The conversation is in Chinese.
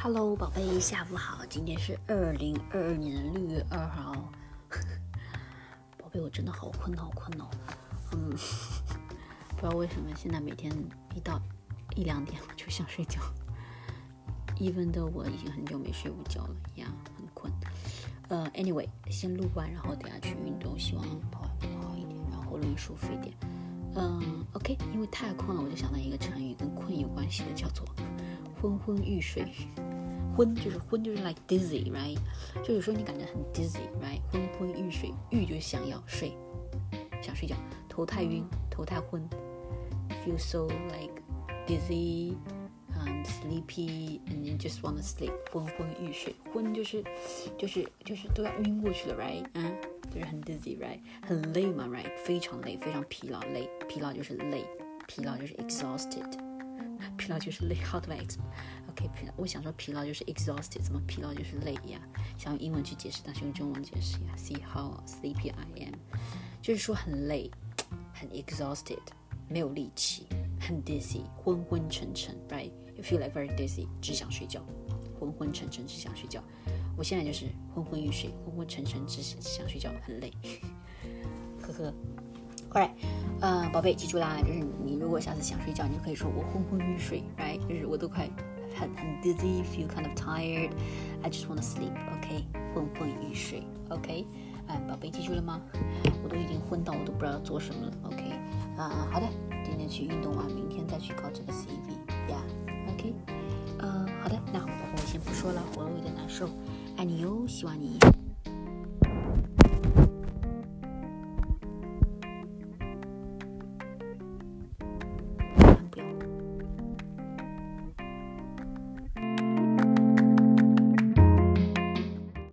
Hello， 宝贝，下午好。今天是2022年6月2号。宝贝，我真的好困哦。不知道为什么现在每天一到1、2点我就想睡觉，even though我已经很久没睡午觉了呀，很困。Anyway， 先录完，然后等下去运动，希望跑好一点，然后喉咙舒服一点。OK， 因为太困了，我就想到一个成语跟困有关系的，叫做昏昏欲睡。昏就是 like dizzy， right？ 就有时候你感觉很 dizzy， right？ 昏昏欲睡，欲就是想要睡，想睡觉，头太晕，头太昏 ，feel so like dizzy, sleepy, and you just wanna sleep， 昏昏欲睡，昏就是都要晕过去了 ，right？ 就是很 dizzy， right？ 很累嘛 ，right？ 非常累，非常疲劳，累，疲劳就是累，疲劳就是 exhausted。疲劳就是累 ，How do I explain？OK， 疲劳，我想说疲劳就是 exhausted， 怎么疲劳就是累呀？想用英文去解释，但是用中文解释呀。See how sleepy I am， 就是说很累，很 exhausted， 没有力气，很 dizzy， 昏昏沉沉 ，right？You feel like very dizzy， 只想睡觉，昏昏沉沉只想睡觉。我现在就是昏昏欲睡，昏昏沉沉只想睡觉，很累，呵呵。Alright， 宝贝，记住啦，就是你如果下次想睡觉，你就可以说我昏昏欲睡 ，right？ 就是我都快很 dizzy， feel kind of tired， I just wanna sleep，OK？ 昏昏欲睡 ，OK？ 宝贝记住了吗？我都已经昏到我都不知道要做什么了 ，OK？ 好的，今天去运动完，明天再去搞这个 CV，yeah，OK？ 好的，那宝贝我先不说了，喉咙有点难受，爱你哟，希望你